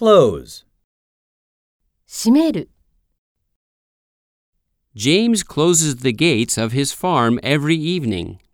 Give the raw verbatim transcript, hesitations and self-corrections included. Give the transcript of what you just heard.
Close. 閉める。 James closes the gates of his farm every evening.